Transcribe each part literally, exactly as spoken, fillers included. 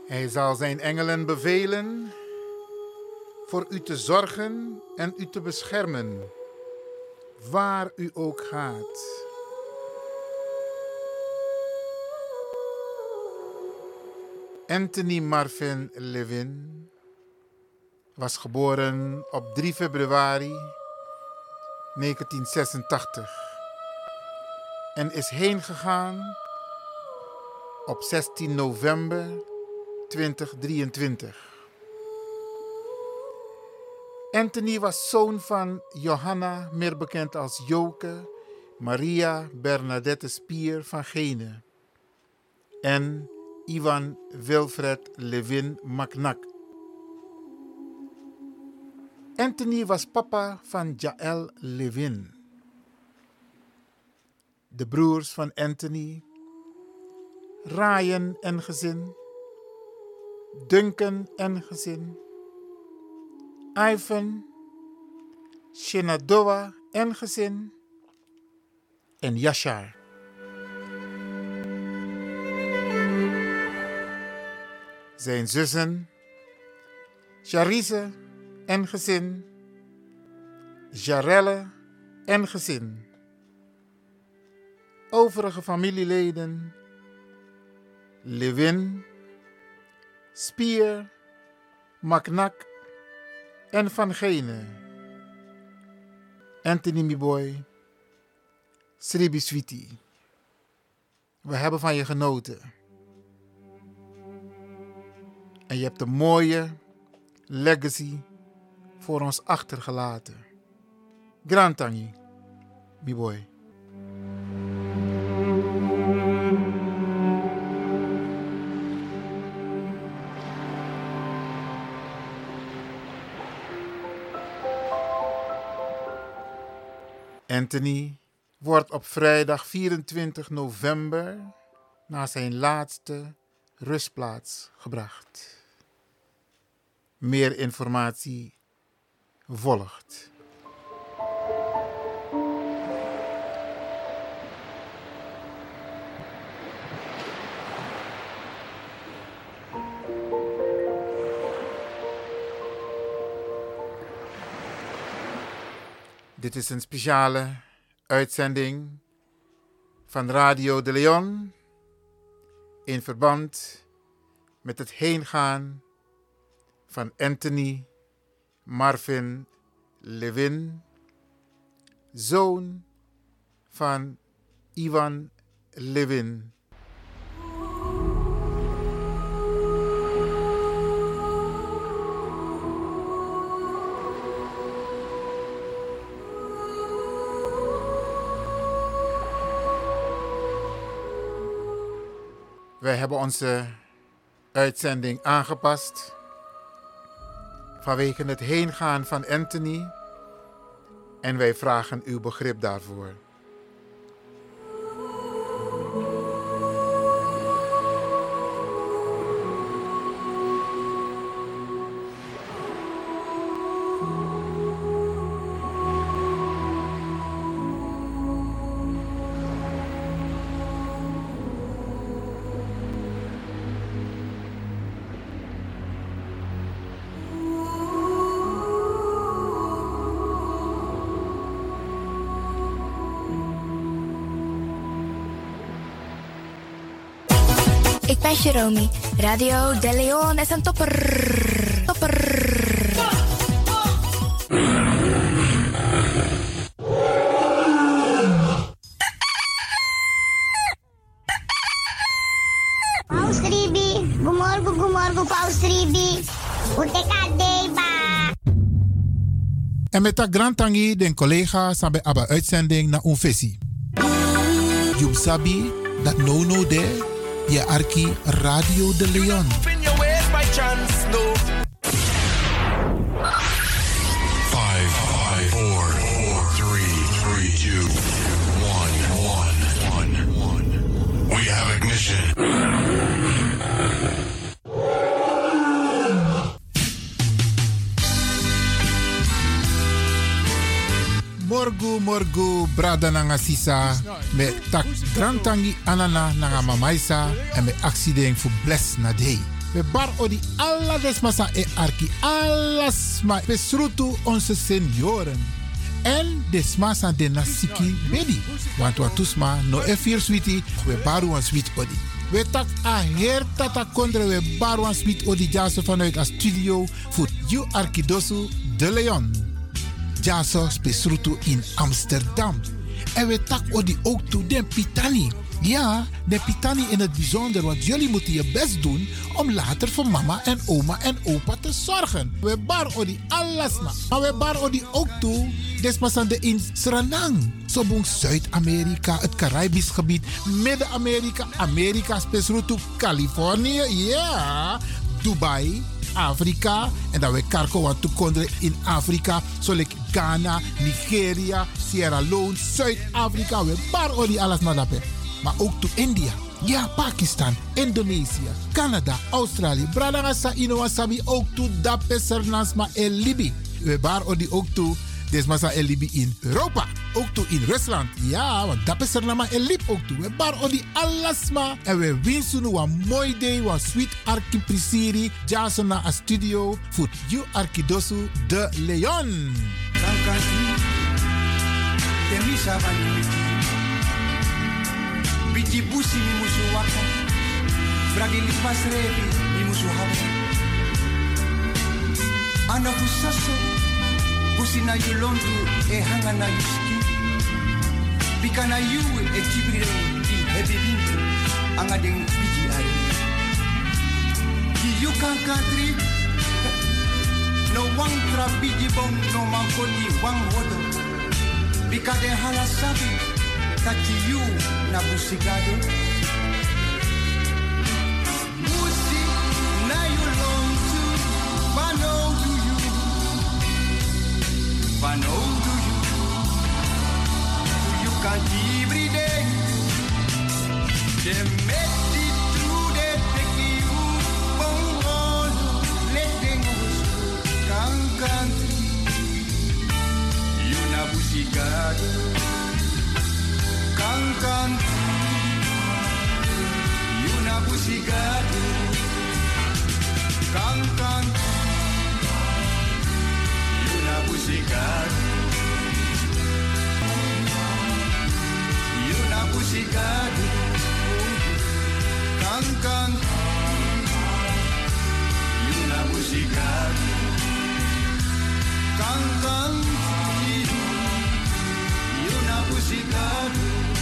Hij zal zijn engelen bevelen voor u te zorgen en u te beschermen, waar u ook gaat. Anthony Marvin Levin was geboren op drie februari negentien zesentachtig en is heengegaan op zestien november tweeduizend drieëntwintig. Anthony was zoon van Johanna, meer bekend als Joke, Maria Bernadette Spier van Gene en Ivan Wilfred Levin Macnak. Anthony was papa van Jaël Levin. De broers van Anthony, Ryan en gezin, Duncan en gezin, Ivan, Shenandoah en gezin en Yashar. Zijn zussen, Charisse en gezin, Jarelle en gezin. Overige familieleden, Levin, Spier, Macnak en Van Gene. Anthony Miboy, Sribi Sweetie. We hebben van je genoten. En je hebt een mooie legacy voor ons achtergelaten. Grand Tangi, Miboy. Anthony wordt op vrijdag vierentwintig november naar zijn laatste rustplaats gebracht. Meer informatie volgt. Dit is een speciale uitzending van Radio de Leon in verband met het heengaan van Anthony Marvin Levin, zoon van Ivan Levin. Wij hebben onze uitzending aangepast vanwege het heengaan van Anthony en wij vragen uw begrip daarvoor. Ik ben Jeromy. Radio De Leon is een topper. Topper. Paus Ribi. Gumorgo, gumorgo, Paus Ribi. Uteka deba. En met dat Grand Tangi, den collega, sabe abba uitzending na unfesi. Jub sabi, dat no no de. Je arki Radio de Leon. Five, five, four, four, three, three, two, one, one, one, one. We have ignition. Morgu morgu brada nanga sisa me tak drantangi anana nanga mamaisa en me accident voor bless na day. We bar odi alla desmasa e arki. Alles ma besrutu onze senioren. En desmasa de nasiki bedi. Want watusma no e vier sweetie. We baru een sweet odi. We tak a her tata kondre we baru een sweet odi jaso vanuit a studio. Voor you Arkidosu de Leon. Jaso besrutu in Amsterdam. En we tak odi ook toe den pitani. Ja, de pitani in het bijzonder, want jullie moeten je best doen om later voor mama en oma en opa te zorgen. We bar odi alles na. Maar we bar odi ook toe, despassande in Suriname. Zo boeng Zuid-Amerika, het Caribisch gebied, Midden-Amerika, Amerika, spesrutu Californië, ja, Dubai, Afrika. En dan we karko wat toekonderen in Afrika, zoals Ghana, Nigeria, Sierra Leone, Zuid-Afrika. We bar odi alles na daarbij. Maar ook to India, ja, Pakistan, Indonesië, Canada, Australië. Bradangasa Inowasabi ook to Dapesernasma en Libi. We bar odi ook to Desmasa en Libi in Europa. Ook to in Rusland. Ja, want Dapesernama en Lib ook to. We bar odi alasma. En we winsten een mooi day, een sweet arki prisiri. Jason na a studio voor you Arkidosu de Leon. Biti busi mi musu waka, bragi lipas rebi mi musu hawa. Ana busaso, busi na yulondu e hanga na yuski. Bika na yu e tibrire di hebi bintu, anga den biji ari. Ki yu kan country, no wang tra biji bong no mankoti wang wodo. Bika den halasabi. Taki you na busigado. Busi na you long to bano do you. Bano do you. You can every day. They make it through the picky you. Bongo let them go. Can country. You na busigado. Kankan, yuna busigado. Kankan, yuna busigado. Yuna busigado. Kankan, yuna busigado. Kankan, yuna busigado.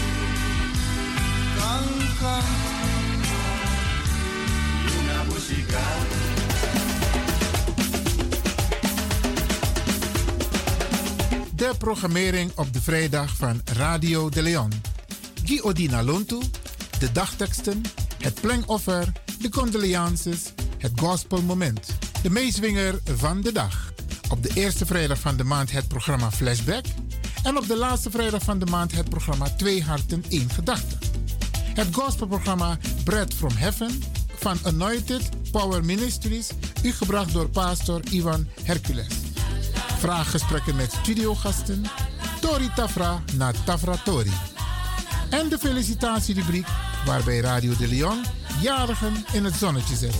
De programmering op de vrijdag van Radio de Leon. Guy Odina Lontu, de dagteksten, het plengoffer, de condolences, het gospelmoment, de meeswinger van de dag. Op de eerste vrijdag van de maand het programma Flashback en op de laatste vrijdag van de maand het programma Twee Harten, één Gedachte. Het gospelprogramma Bread from Heaven van Anointed Power Ministries, u gebracht door pastor Ivan Hercules. Vraaggesprekken met studiogasten, Tori Tafra na Tafra Tori. En de felicitatierubriek waarbij Radio de Leon jarigen in het zonnetje zet.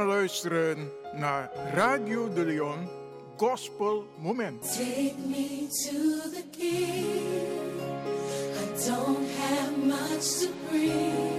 gaan luisteren naar Radio de Leon Gospel Moment. Take me to the King. I don't have much to bring.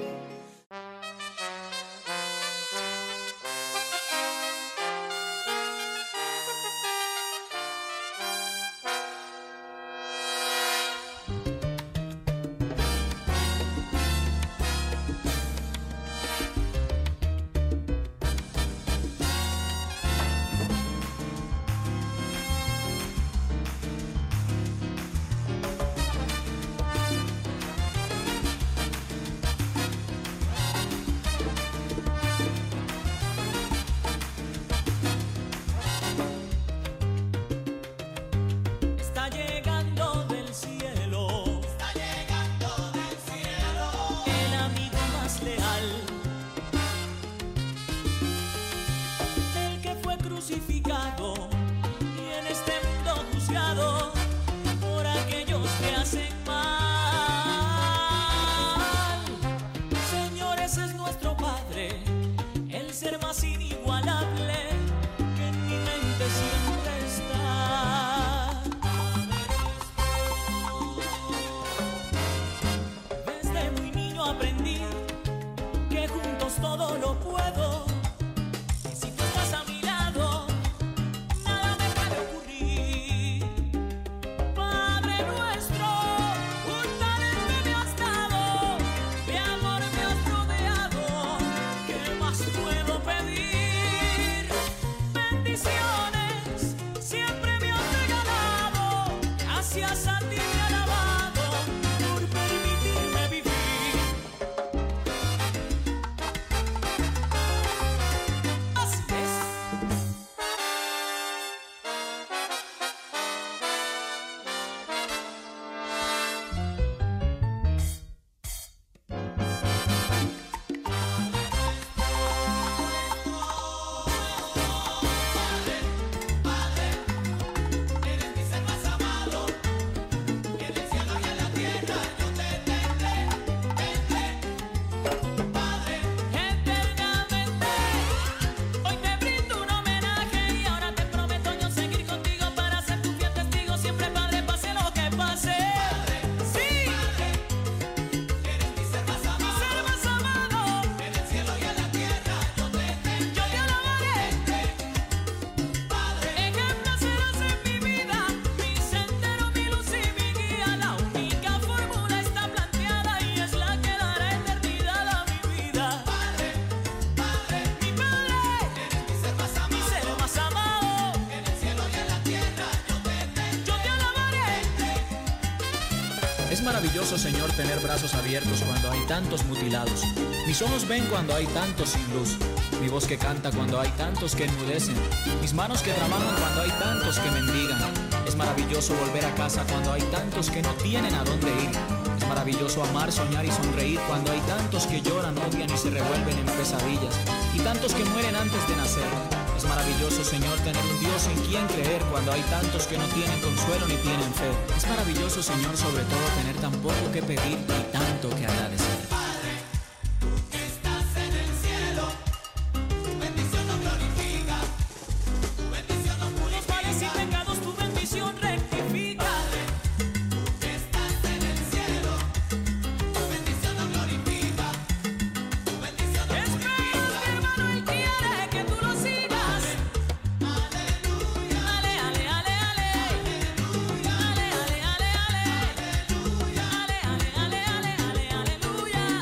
maravilloso, Señor, tener brazos abiertos cuando hay tantos mutilados. Mis ojos ven cuando hay tantos sin luz. Mi voz que canta cuando hay tantos que enmudecen. Mis manos que trabajan cuando hay tantos que mendigan. Es maravilloso volver a casa cuando hay tantos que no tienen a dónde ir. Es maravilloso amar, soñar y sonreír cuando hay tantos que lloran, odian y se revuelven en pesadillas. Y tantos que mueren antes de nacer. Es maravilloso, Señor, tener un Dios en quien creer cuando hay tantos que no tienen consuelo ni tienen fe. Es maravilloso, Señor, sobre todo tener tan poco que pedir y tanto que agradecer. Padre, tú que estás en el cielo, tu bendición nos glorifica, tu bendición nos purifica. Los males y pecados, tu bendición rectifica. Padre, tú que estás en el cielo, tu bendición nos glorifica, tu bendición nos purifica. Espera, mi hermano, él quiere que tú lo sigas. Aleluya.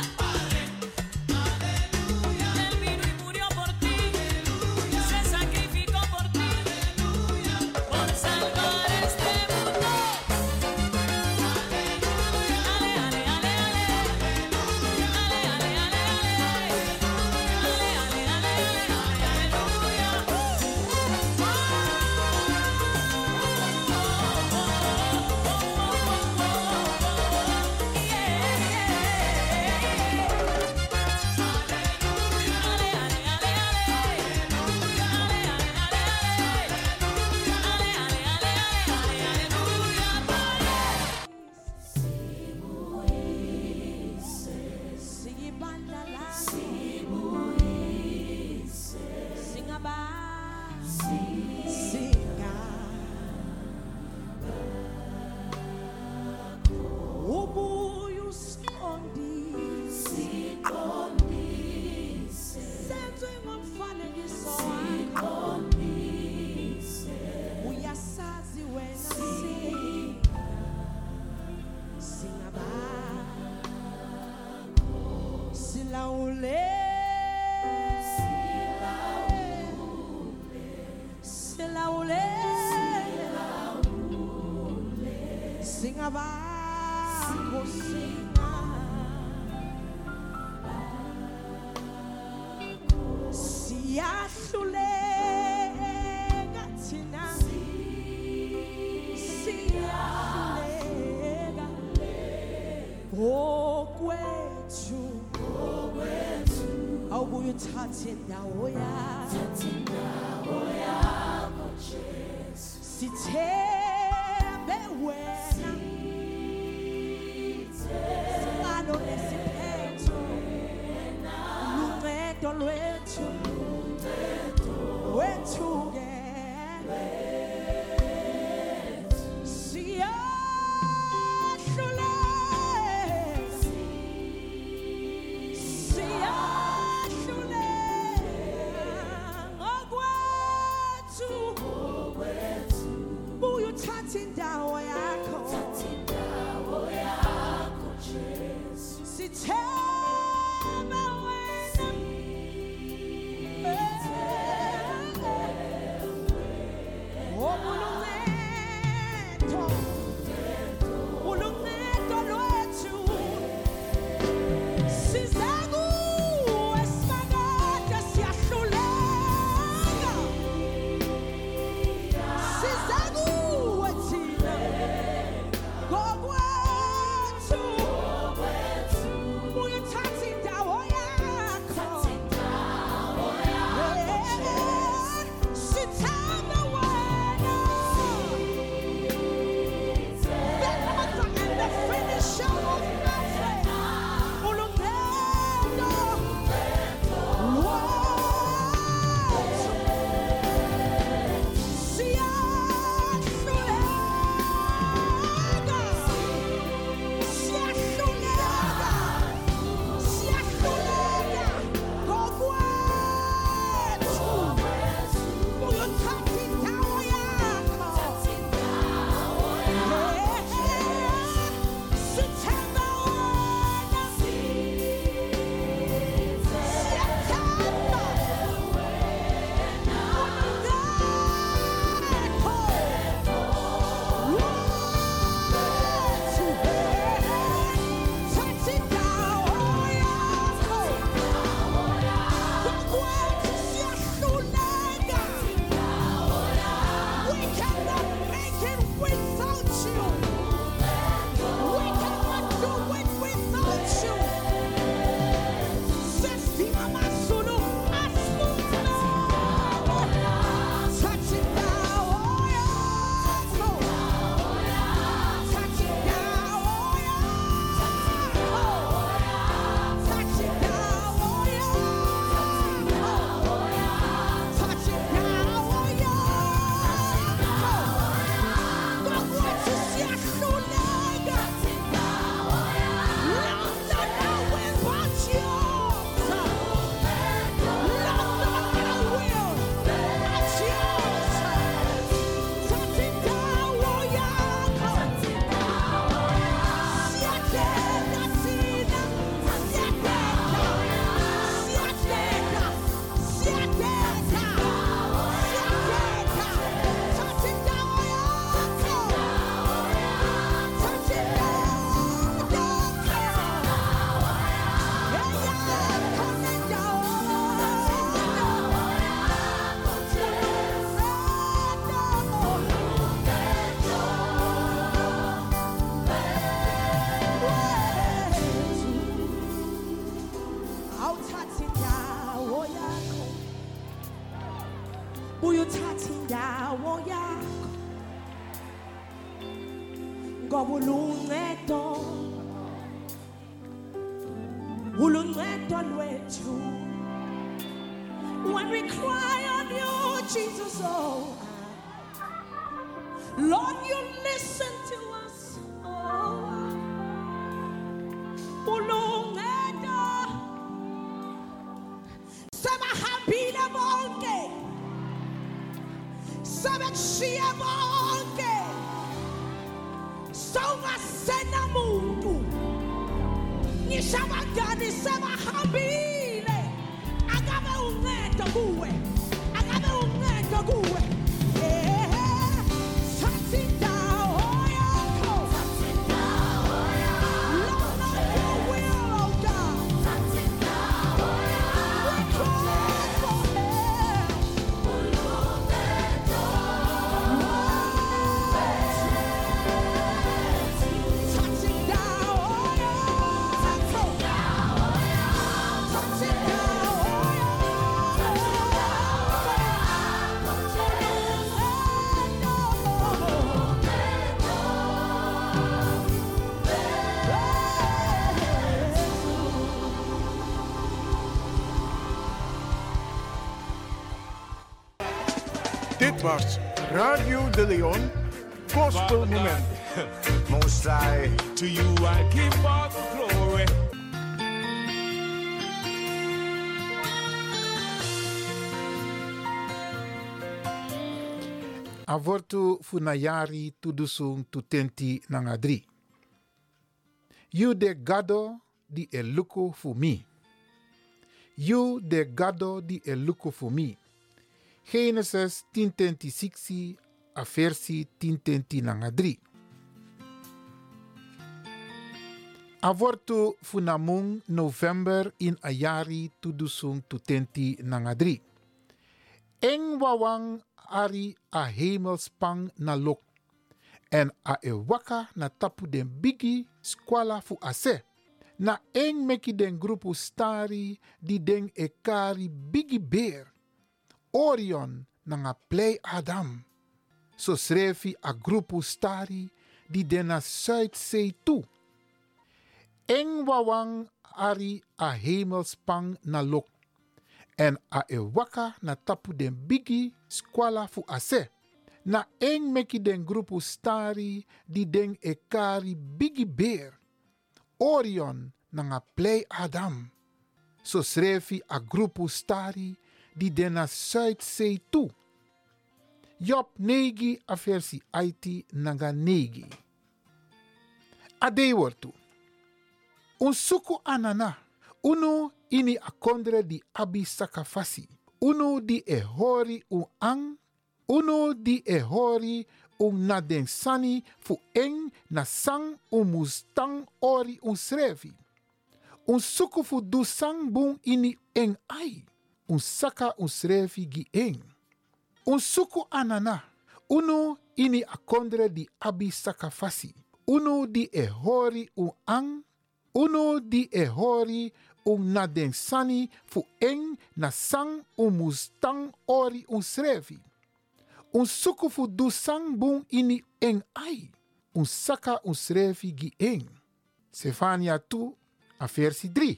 Singa bako singa Siyahlulela thina Siyahlulela Okwethu Awubuye uthathe indawo yakho Sithembe wena Singalo nesiphetho Luncedo lwethu Wethu ke Siyahlulela Siyahlulela Okwethu Buye uthathe indawo yakho Sithemba wena Obuluncedo Uluncedo lwethu Siza kuwe simakade siyahluleka Siza kuwe thina ngokwethu Buye uthathe indawo yakho Sithemba wena The author and the finisher of my faith Uluncedo lwethu Siyahlulela Siyahlulela Siyahlulela ngokwethu Buye uthathe indawo yakho Sithemba wena Siyethemba We cannot make it without you. We cannot do it without you. Sestima Masulu, Asmuna. Touch it now, oh yeah. Touch it now, oh yeah. Touch it now, oh yeah. Touch it now, oh yeah. Ngokwethu siyahlulela. London away but yours. London away but yours. Touch it now, oh yeah. Siyateka thina. Siyateka. Siyateka. Siyateka. Siyateka. Touch it now, oh yeah. Touch it now, awuthathe indawo yakho Buye uthathe indawo yakho Ngoba uluncedo Uluncedo lwethu When we cry on you Jesus oh Lord you listen to us oh Uluncedo Sabahambile bonke Sabekushiya bonke Sawungasena muntu Ngisho abangani sebahambile Akabe uncedo kuwe Akabe uncedo kuwe Eh, thatha indawo yakho Dit was Radio De Leon, Gospel Moment. Most High, to you I give all the glory. Avortu funayari tudusung tutenti nangadri. You de gado di eluko fu mi. You de gado di eluko fu mi. Genesis tien twenty-six a versi tien twenty nangadri. Avortu funamung November in ayari tudusung tutenti nangadri. Eng wawang ari a hemelspang na lok. En a e waka na tapu den bigi skwala fu ase. Na eng meki den grupu stari di den e kari bigi beer. Orion na nga play Adam. So srefi a grupu stari di den na Zuidzee toe. Eng wawang ari a hemelspang na lok. En a e waka na tapu den bigi skwala fu ase. Na eng meki den grupu stari di den e kari bigi beer. Orion na nga play Adam. So srefi a grupu stari di den na Zuidzee toe. Job negi a versi aiti naga negi. Ade wortu. Un suku anana. Unu ini akondre di abi sakafasi. Unu di e hori un ang. Unu di e hori un na den sani fu eng na sang un mustang ori un srevi. Un suku fu du sang bun ini eng ai. Un saka un srevi gi eng. Un suku anana. Unu ini akondre di abi sakafasi. Unu di e hori un ang. Unu di e hori un na den sani fu eng na sang un mustang ori un srevi. Un suku fu du sang bun ini eng ai. Un saka un srevi gi eng. Sefania tu a versi drie.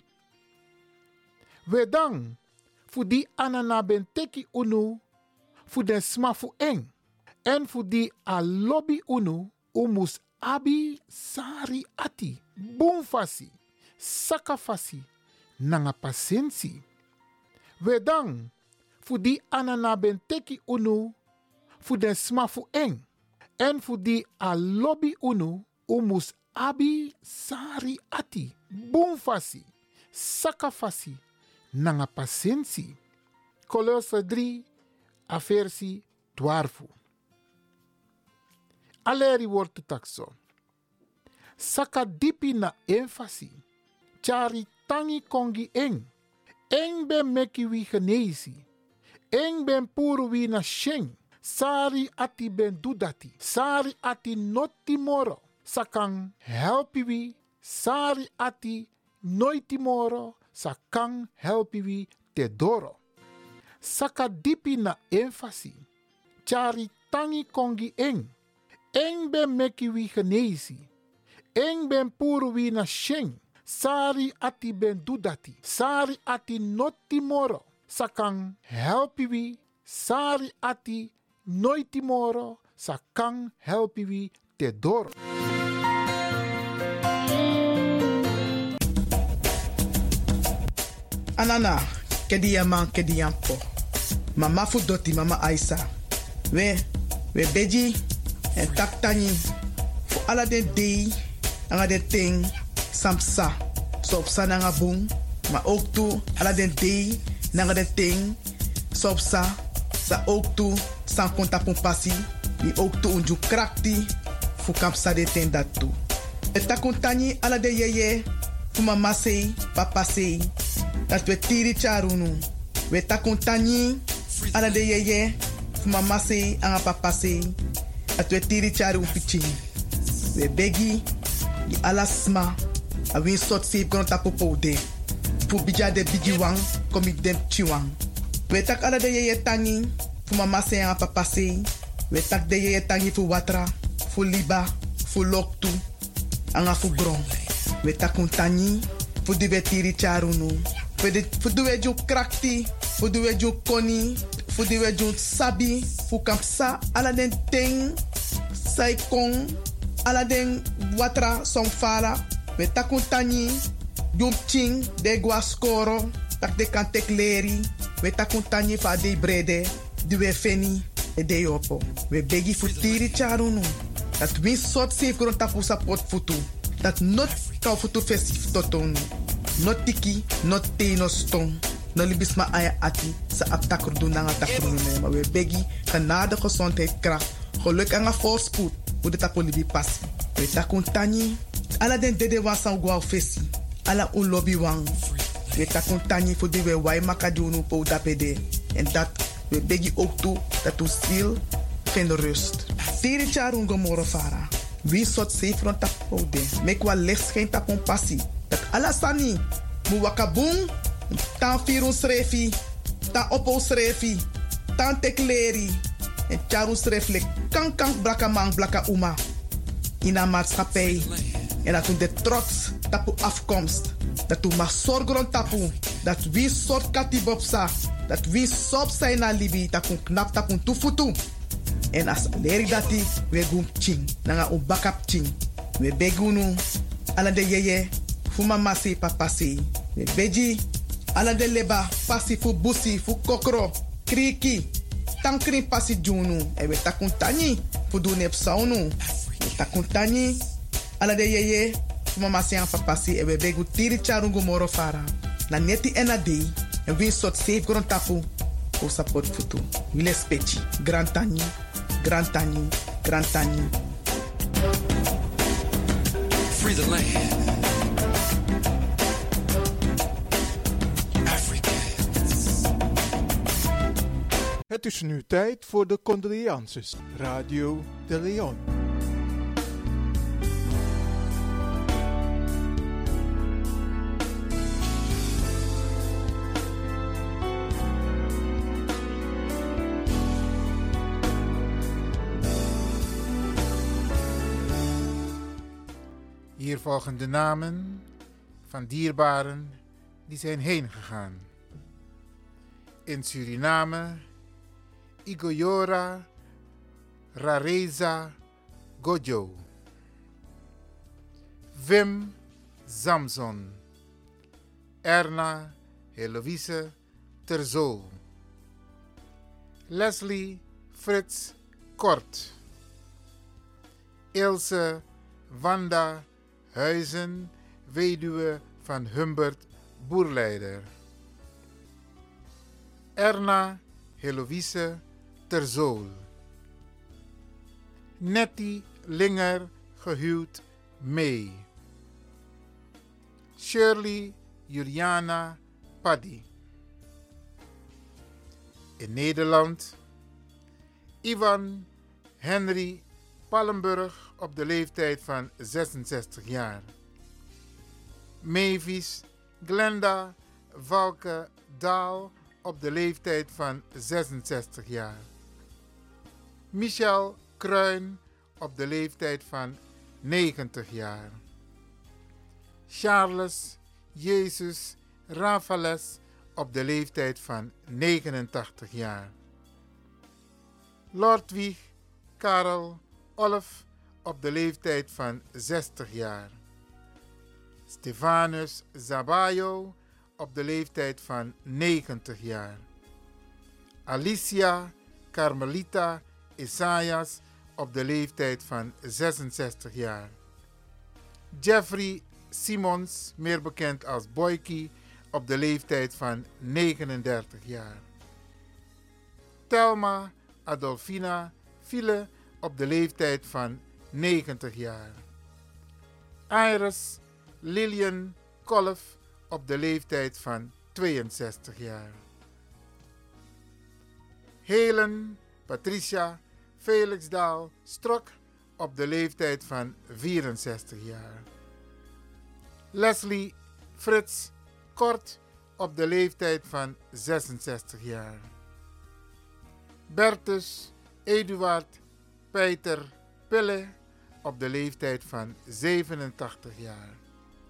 Wedang fu di anana ben teki unu fu den sma fu eng. En fu di a lobby unu umus abi sari ati. Bun fasi. Saka fasi. Nanga pasensi. Wedang fu di anana ben teki unu fu den sma fu eng. En fu di a lobby unu umus abi sari ati. Bun fasi. Saka fasi. Nanga pasensi. Kolose drie a versi twaalf. Aleri wordt takso. Saka dipi na enfasi. Chari tangi kongi eng. Eng ben meki wi genesi. Eng ben puru wi na sheng. Sari ati ben dudati. Sari ati noti moro. Sakang helpi wi. Sari ati noiti moro. Sakang helpi wi te doro. Saka dipi na enfasi. Chari tangi kongi eng. Eng ben meki wi genesi. Eng ben puru wi na sheng. Sari ati ben dudati. Sari ati noti moro. Sakang helpi wi. Sari ati noiti moro. Sakang helpi wi te doro. Anana, kedi yaman kedi yampo. Mama fu doti mama Aisa. We, we beji en taktani. Fu ala den dei, anga den ting, samsa. Sopsa nanga bung, ma ook tu ala den dei, nanga den ting, sopsa. Sa ook tu, san konta pun pasi. Ni ook tu unju krakti, fu kampsa de ten dat tu. Et takuntani ala de yeye, fu mama sei, papa sei. Dat we tiri charunu. We takuntani ala de yeye, fu mama sei, anga papa sei. Dat we tiri charu pichi. We begi, di alasma. A win sot save kono tapo poude. Fu bija de bigi wang, komi dem chiwang. We tak ala de yeye tangi, fu mama sei, anga papa sei. We tak de yeye tangi fu watra, fu liba, fu loktu, anga fu gron. We takuntani, fu di we tiri charunu. Fu duwe ju krakti, fu duwe ju koni, Voor die we doen sabi, voor kampsa, ala den ting, saikong, ala den watra somfala, we takuntani, jum ching, de guascoro, tak de kantek leri, we takuntani fa de brede, die we feni, e de yopo. We begi voor tiri charunu. Dat win soort safe grond tapu support futu. Dat not kau futu festif totonu. Not tiki, not te, no stong. No libisma aya ati sa aptakrudu na nga takrudu. Maar we begi genade gezondheid kracht. Geluk en voorspoed. Hoe de tapu libi passi. We takuntani. Ala den dede wasan guau fesi. Ala un lobby wang. We takuntani voor die we wai makadunu po dapede. En dat we begi ook toe dat u ziel vindt rust. Tiri charun gomoro fara. Wie soort zeefron tapode. Mek wa licht schijnt op een passie. Dat alasani. Mu wakabung. Tan firun srefi. Tan opo srefi. Tan tekleri. En charun sreflek. Kan kan blaka man blaka uma. In een maatschappij. En dat u de trots tapu afkomst. Dat u mag zorgen tapu. Dat wie soort katibopsa. Dat wie sop zijn na libi. Dat u knap tapu tufutu. En as leri dati we gum ching. Nanga u bakap ching. We begunu. Ala de yeye. Fu mama se papa se. We beji. Ala de leba. Pasi fu busi. Fu kokro. Kriki. Tankrin pasi junu. E we takuntani. Fu du nep saunu. We takuntani. Ala de yeye. Fu mama se an papa se. E we begu tiri charungu moro fara. Na neti ena dei. En we sot safe grond tapu. O support futu. Wile spechi. Grand tani. Grand tani. Grand tani. Free the land. Het is nu tijd voor de condolences. Radio de Leon. Hier volgen de namen van dierbaren die zijn heen gegaan. In Suriname, Igoyora Rareza Gojo, Wim Samson, Erna Heloïse Terzo, Leslie Frits Kort, Ilse Wanda Huizen, weduwe van Humbert Boerleider. Erna Heloïse Terzool. Nettie Linger, gehuwd mee. Shirley Juliana Paddy. In Nederland, Ivan Henry Pallenburg op de leeftijd van zesenzestig jaar. Mavis Glenda Valke Daal op de leeftijd van zesenzestig jaar. Michel Kruin op de leeftijd van negentig jaar. Charles Jezus Rafales op de leeftijd van negenentachtig jaar. Lordwig Karel Olf op de leeftijd van zestig jaar. Stefanus Zabayo op de leeftijd van negentig jaar. Alicia Carmelita Isaias op de leeftijd van zesenzestig jaar. Jeffrey Simons, meer bekend als Boykie, op de leeftijd van negenendertig jaar. Thelma Adolfina File op de leeftijd van negentig jaar. Iris Lillian Kolf op de leeftijd van tweeënzestig jaar. Helen Patricia Felixdaal Strok op de leeftijd van vierenzestig jaar. Leslie Frits Kort op de leeftijd van zesenzestig jaar. Bertus Eduard Peter Pille op de leeftijd van zevenentachtig jaar.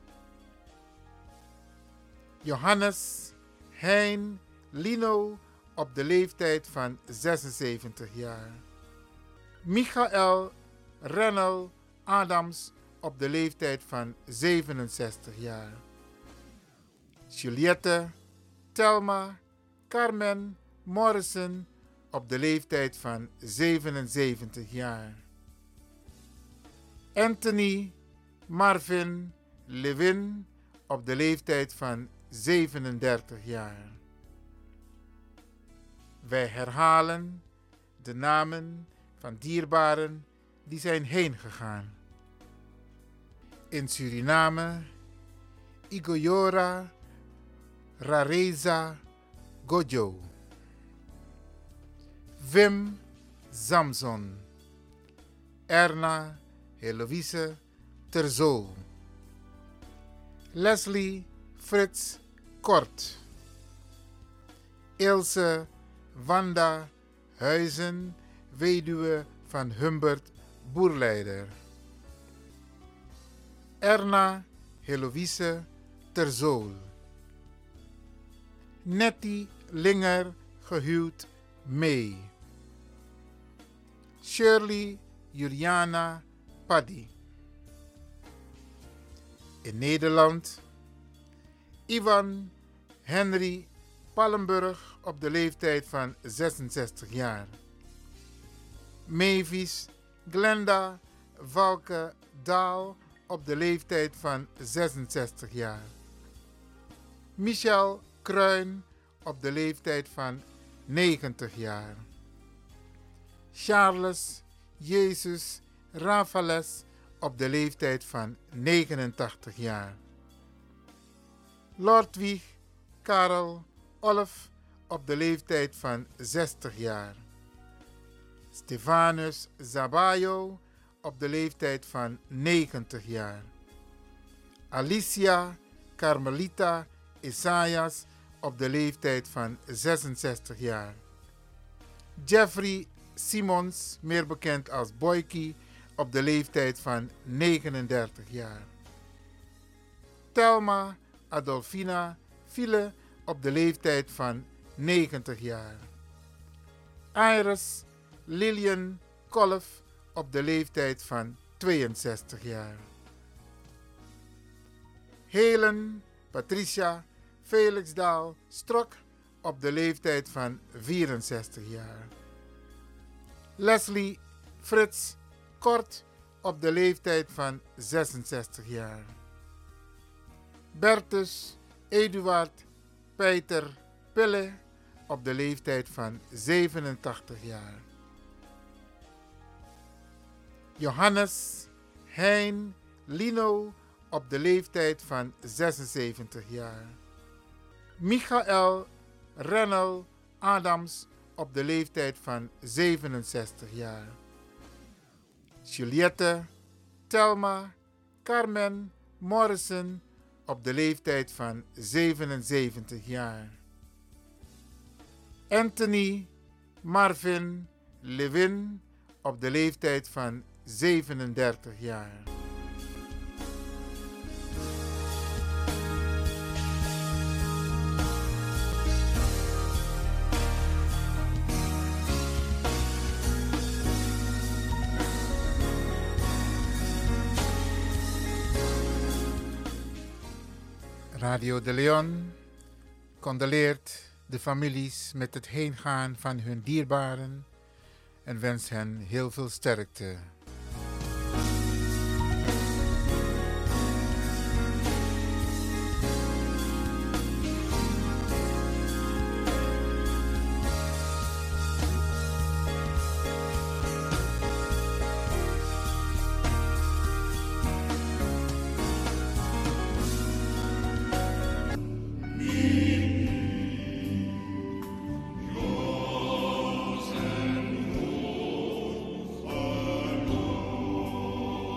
Johannes Hein Lino op de leeftijd van zesenzeventig jaar. Michael Rennel Adams op de leeftijd van zevenenzestig jaar. Juliette Thelma Carmen Morrison op de leeftijd van zevenenzeventig jaar. Anthony Marvin Levin op de leeftijd van zevenendertig jaar. Wij herhalen de namen van dierbaren die zijn heen gegaan. In Suriname, Igoyora Rareza Gojo. Wim Samson. Erna Heloïse Terzo. Leslie Frits Kort. Ilse Wanda Huizen, weduwe van Humbert Boerleider. Erna Heloïse Terzool. Nettie Linger, gehuwd mee. Shirley Juliana Paddy. In Nederland, Ivan Henry Pallenburg op de leeftijd van zesenzestig jaar. Mavis Glenda Valke Daal op de leeftijd van zesenzestig jaar. Michel Kruin op de leeftijd van negentig jaar. Charles Jezus Rafales op de leeftijd van negenentachtig jaar. Lordwig Karel Olf op de leeftijd van zestig jaar. Stefanus Zabayo op de leeftijd van negentig jaar. Alicia Carmelita Isaias op de leeftijd van zesenzestig jaar. Jeffrey Simons, meer bekend als Boykie, op de leeftijd van negenendertig jaar. Thelma Adolfina File op de leeftijd van negentig jaar. Iris Lillian Kolf op de leeftijd van tweeënzestig jaar. Helen Patricia Felixdaal Strok op de leeftijd van vierenzestig jaar. Leslie Frits Kort op de leeftijd van zesenzestig jaar. Bertus Eduard Peter Pille op de leeftijd van zevenentachtig jaar. Johannes Hein Lino op de leeftijd van zesenzeventig jaar. Michael Rennel Adams op de leeftijd van zevenenzestig jaar. Juliette Thelma Carmen Morrison op de leeftijd van zevenenzeventig jaar. Anthony Marvin Levin op de leeftijd van zevenendertig jaar. Radio de Leon condoleert de families met het heengaan van hun dierbaren en wens hen heel veel sterkte. Oh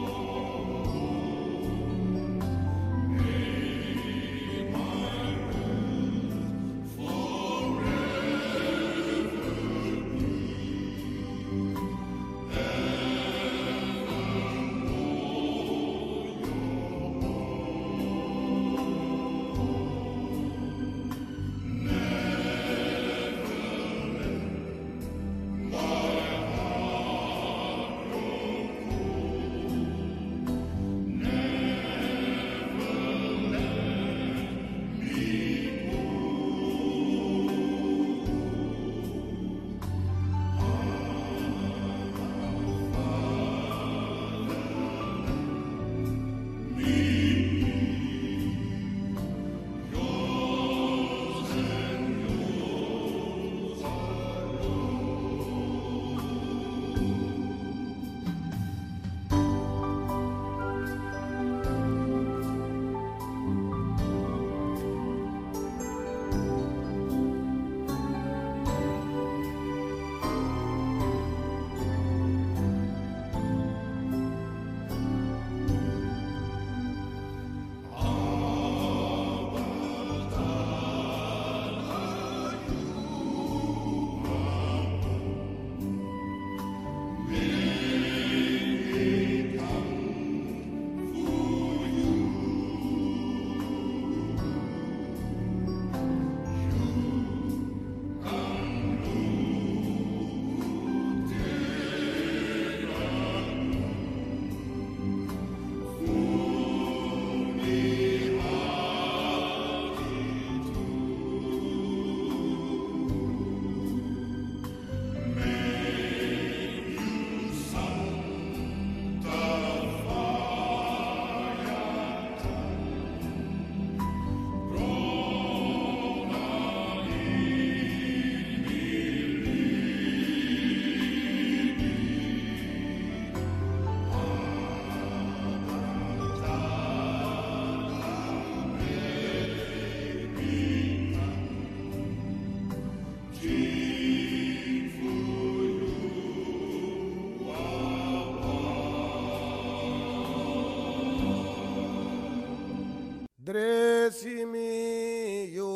Dresimi yo.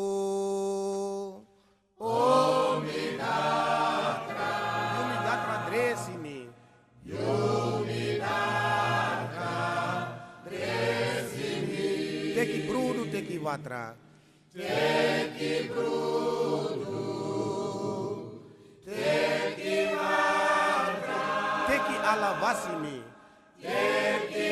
Yumidatra. Yumidatra dresimi. Yumidatra dresimi. Teki brudu teki watra. Teki brudu. Teki watra. Teki alavasimi. Teki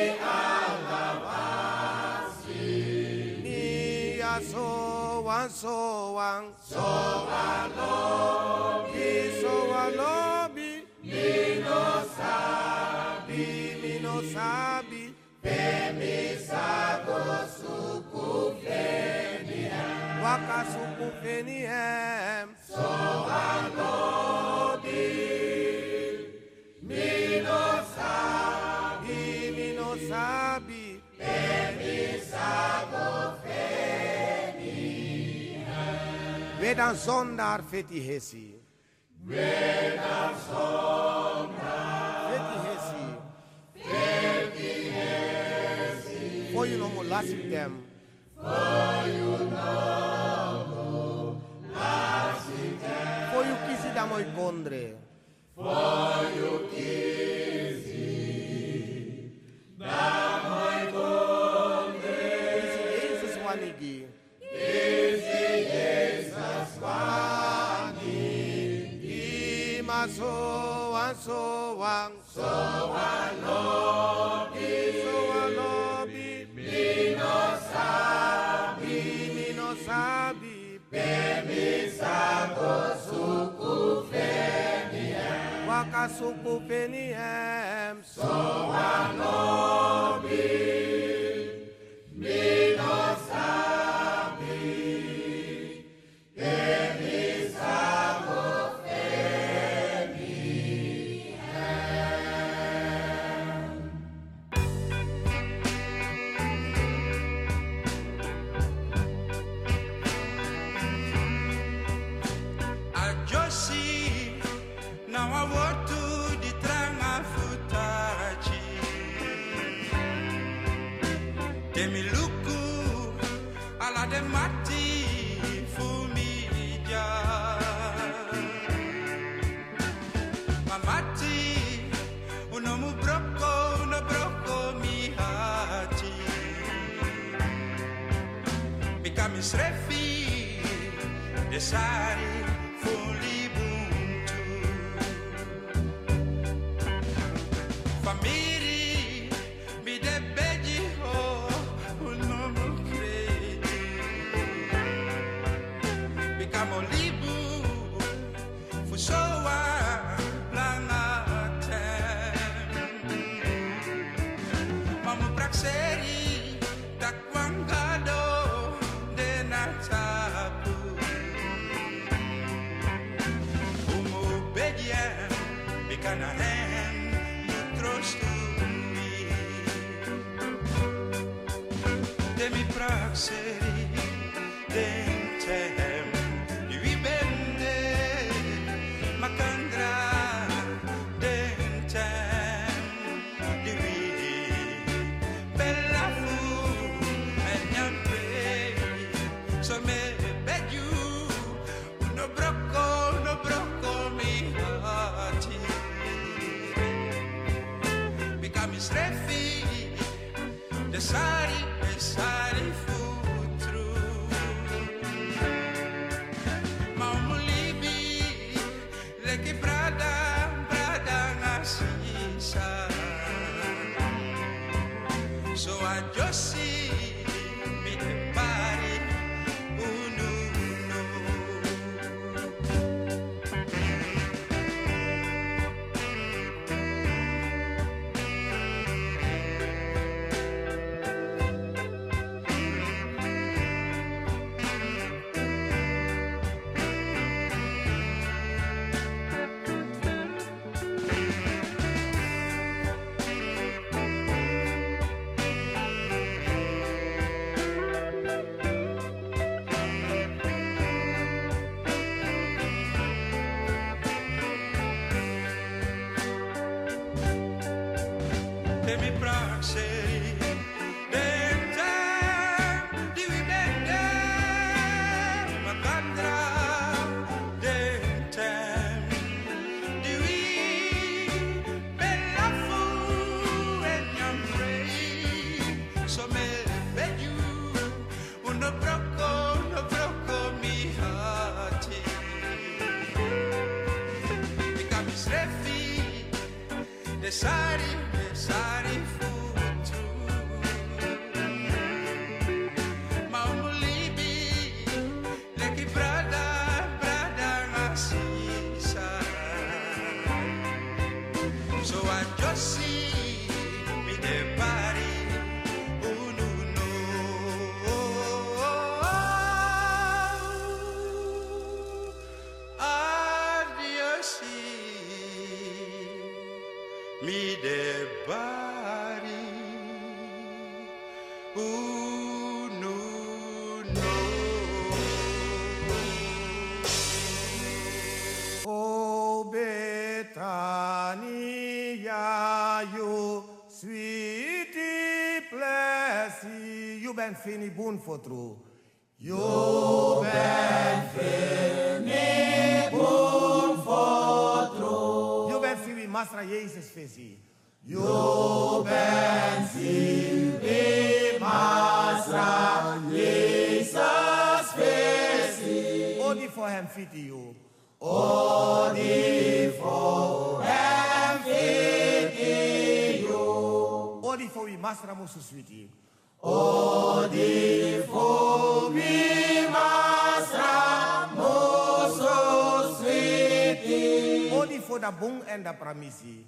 alavasimi. Ya so wan so wan. So wan lobi. So wan lobi. Mi no sabi. Mi no sabi. Pemi sago suku feniem. Waka suku feniem. So wan lobi. Mi no sabi. Mi no sabi. Pemi sago feniem. Wedan zondar feti hesi. Wedan zondar feti hesi. Feti hesi. For you no more last with them. For you no more last with them. For you kisi da moi kondre. For you kisi da moi kondre. Kisi Jesus wanigi. Kisi Jesus wanigi. Ma so wan so wan. So wan lobi. So wan lobi. Mi no sabi. Mi no sabi. Pemi sago suku feniem. Waka suku feniem. So wan lobi. Mi no sabi. Pemi sago now I walk to the tranga futachi. Demi luku ala de mati fumija. Mamati uno mu brocco uno brocco mi hati. Become srefi desari fully. Famiri mi de beji ho uno mo credi. Becamo libu fusoa langa tem. Mamu praxeri takwangado de natapu. Umo beji bicana hen troost to me. De mi praxeri dentem di vibende macandra dentem di vi bella fu e niente so me beju no brocco no brocco mi hati. Become srefi desari desari futru. Ma umulibi leki brada brada ngasisa. So I just see me the body unu no. De mi praxeri dentem di sweetie plessie. You ben fini boon for true. You ben fini boon for true. You ben fini Masra Jezus visie. You ben fini Masra Jezus visie. Odi for hem fiti you. Odi for hem fiti you. Odi for we Masra musu sweetie. Odi for we Masra musu sweetie. Odi for da bong en da pramisi.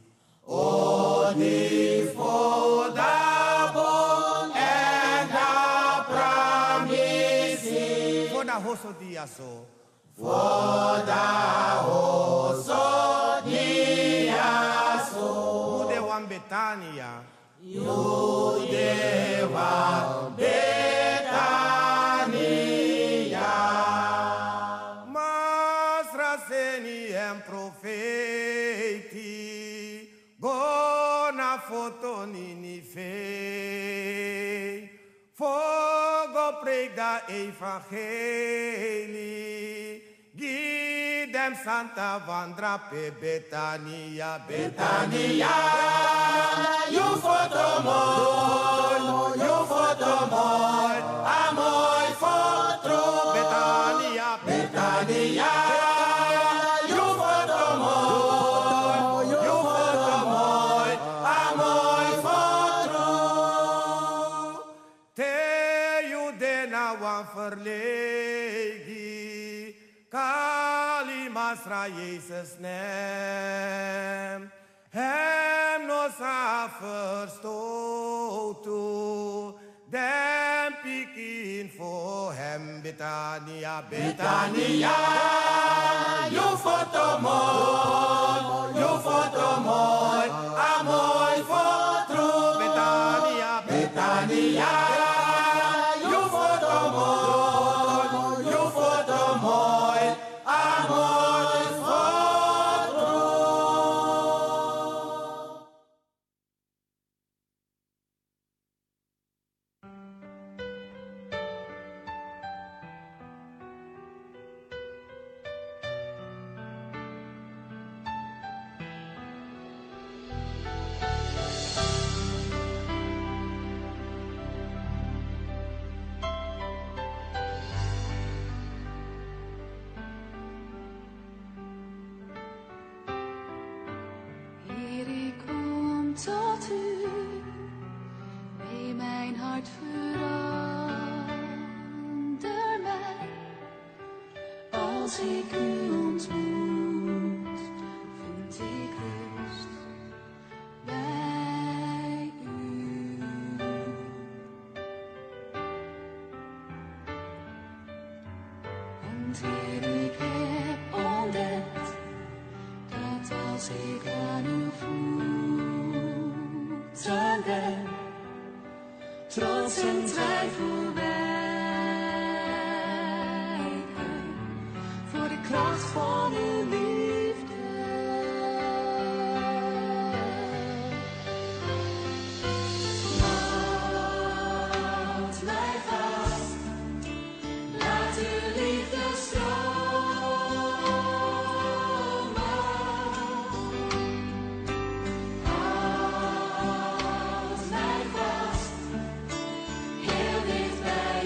Odi for da bong en da pramisi. For da hoso diaso. For da hoso diaso. Ude wan Betania. Jude wan Betania. Masra seni en profeti. Gona foto nini fe. Fogo preek da evangelie. Give them Santa Vandra pe Betania, Betania. You foto mooi, you foto mooi. A mooi foto. Betania, Betania. You foto mooi, you foto mooi. A mooi foto. Te you dena wan verlegi. Kali Masra Jezus nem. Hem no sa verstoten. Dem pikin voor hem Betania, Betania. You foto mooi, you foto mooi. A mooi foto. Betania, Betania. You foto mooi, you foto mooi. A mooi foto. Heer, ik kom tot u, nee, mijn hart verander mij. Als ik u ontmoet, vind ik rust bij u. Want Heer, ik heb ontdekt dat als ik aan uw voeten ben, trots en twijfel wijken voor de kracht van uw liefde. Houd mij vast, laat uw liefde stromen. Houd mij vast, heel dicht bij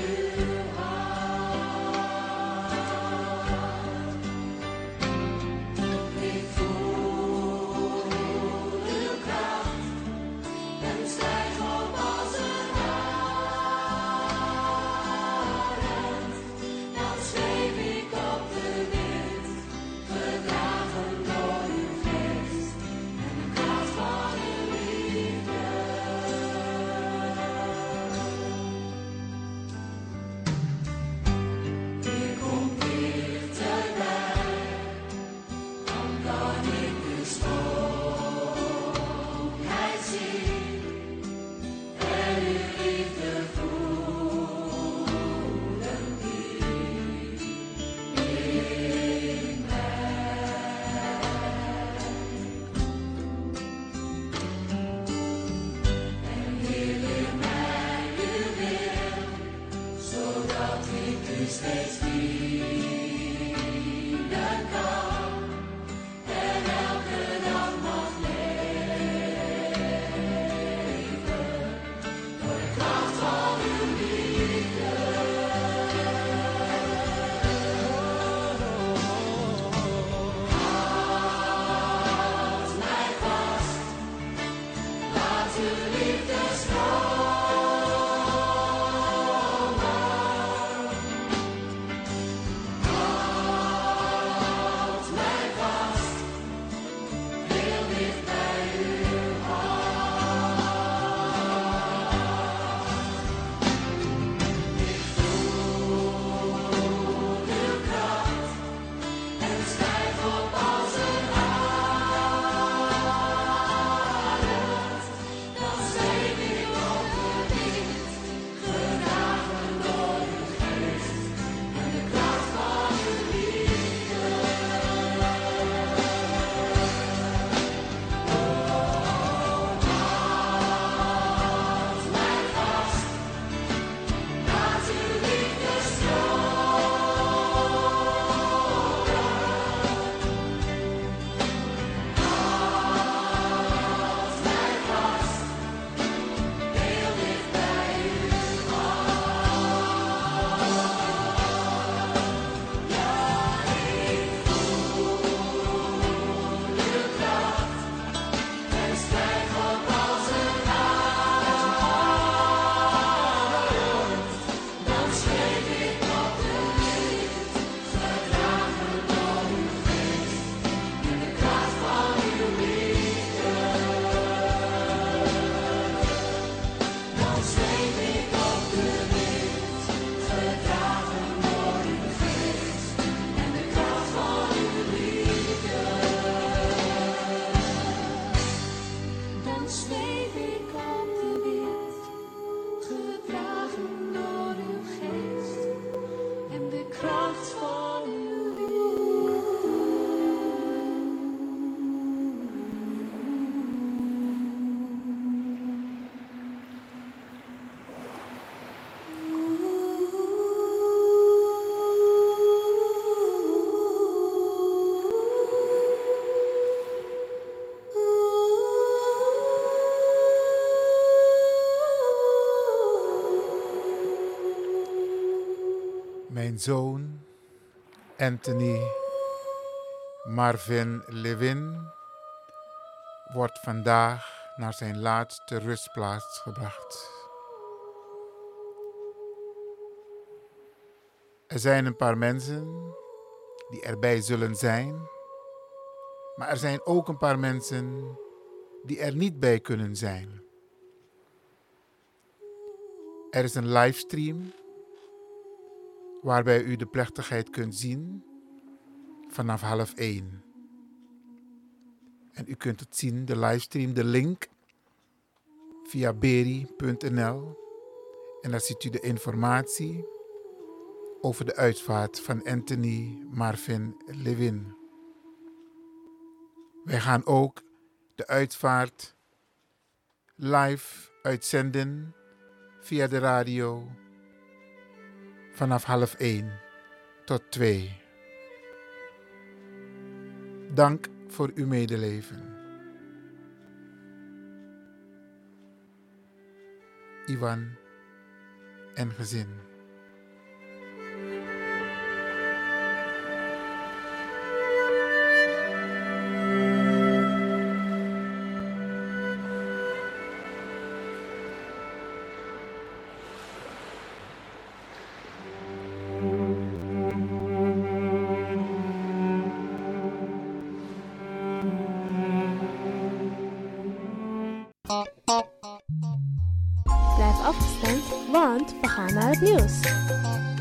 Mijn zoon Anthony Marvin Levin wordt vandaag naar zijn laatste rustplaats gebracht. Er zijn een paar mensen die erbij zullen zijn, maar er zijn ook een paar mensen die er niet bij kunnen zijn. Er is een livestream waarbij u de plechtigheid kunt zien vanaf half één. En u kunt het zien, de livestream, de link, via beri punt n l. En daar ziet u de informatie over de uitvaart van Anthony Marvin Levin. Wij gaan ook de uitvaart live uitzenden via de radio vanaf half één tot twee. Dank voor uw medeleven. Ivan en gezin. Blijf afgestemd, want we gaan naar het nieuws.